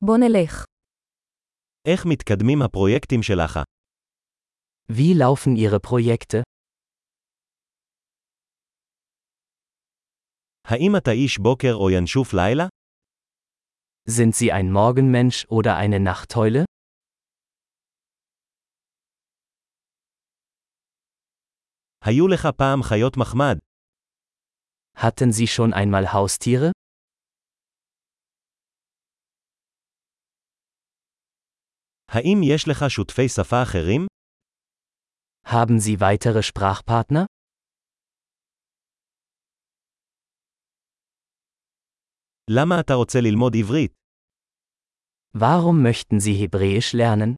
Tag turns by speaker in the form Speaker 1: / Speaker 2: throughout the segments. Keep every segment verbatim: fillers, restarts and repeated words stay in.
Speaker 1: בוא נלך.
Speaker 2: איך מתקדמים הפרויקטים שלך?
Speaker 3: Wie laufen Ihre Projekte?
Speaker 2: האם אתה איש בוקר או ינשוף לילה?
Speaker 3: Sind Sie ein Morgenmensch oder eine Nachteule?
Speaker 2: היו לך פעם חיות מחמד?
Speaker 3: Hatten Sie schon einmal Haustiere?
Speaker 2: האם יש לך שותפי שפה אחרים?
Speaker 3: Haben Sie weitere Sprachpartner?
Speaker 2: למה אתה רוצה ללמוד עברית?
Speaker 3: Warum möchten Sie Hebräisch lernen?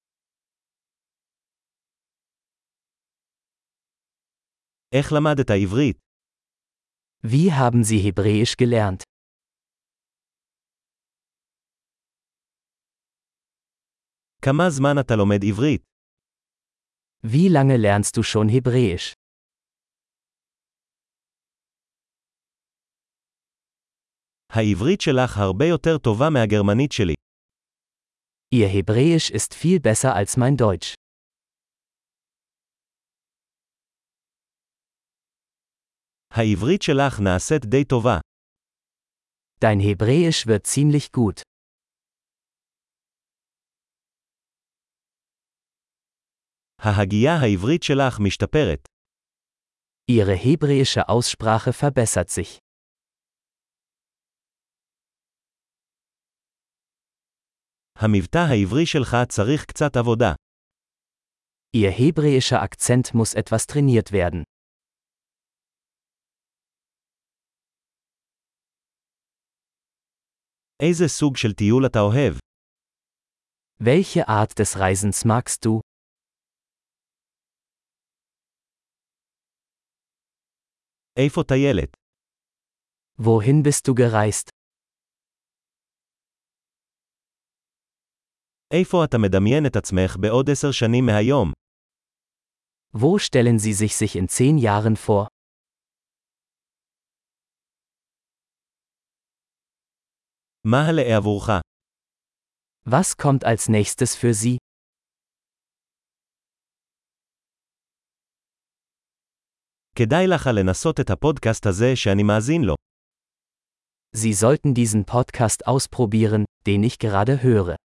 Speaker 2: איך למדת עברית?
Speaker 3: Wie haben Sie Hebräisch gelernt?
Speaker 2: כמה זמן אתה לומד עברית?
Speaker 3: Wie lange lernst du schon Hebräisch?
Speaker 2: העברית שלך הרבה יותר טובה מהגרמנית שלי.
Speaker 3: Ihr Hebräisch ist viel besser als mein Deutsch.
Speaker 2: העברית שלך נעשית די טובה.
Speaker 3: Dein Hebräisch wird ziemlich gut.
Speaker 2: ההגייה העברית שלך משתפרת.
Speaker 3: Ihre hebräische Aussprache verbessert sich.
Speaker 2: המבטא העברי שלך צריך קצת עבודה.
Speaker 3: Ihr hebräischer Akzent muss etwas trainiert werden.
Speaker 2: איזה סוג של טיול אתה אוהב?
Speaker 3: Welche Art des Reisens magst du?
Speaker 2: איפה טיילת?
Speaker 3: Wohin bist du gereist?
Speaker 2: איפה אתה מדמיין את עצמך בעוד עשר שנים מהיום?
Speaker 3: Wo stellen Sie sich sich in zehn Jahren vor?
Speaker 2: מה הלאה עבורך?
Speaker 3: Was kommt als nächstes für Sie?
Speaker 2: כדאי לך לנסות את הפודקאסט הזה שאני מאזין לו.
Speaker 3: Sie sollten diesen Podcast ausprobieren, den ich gerade höre.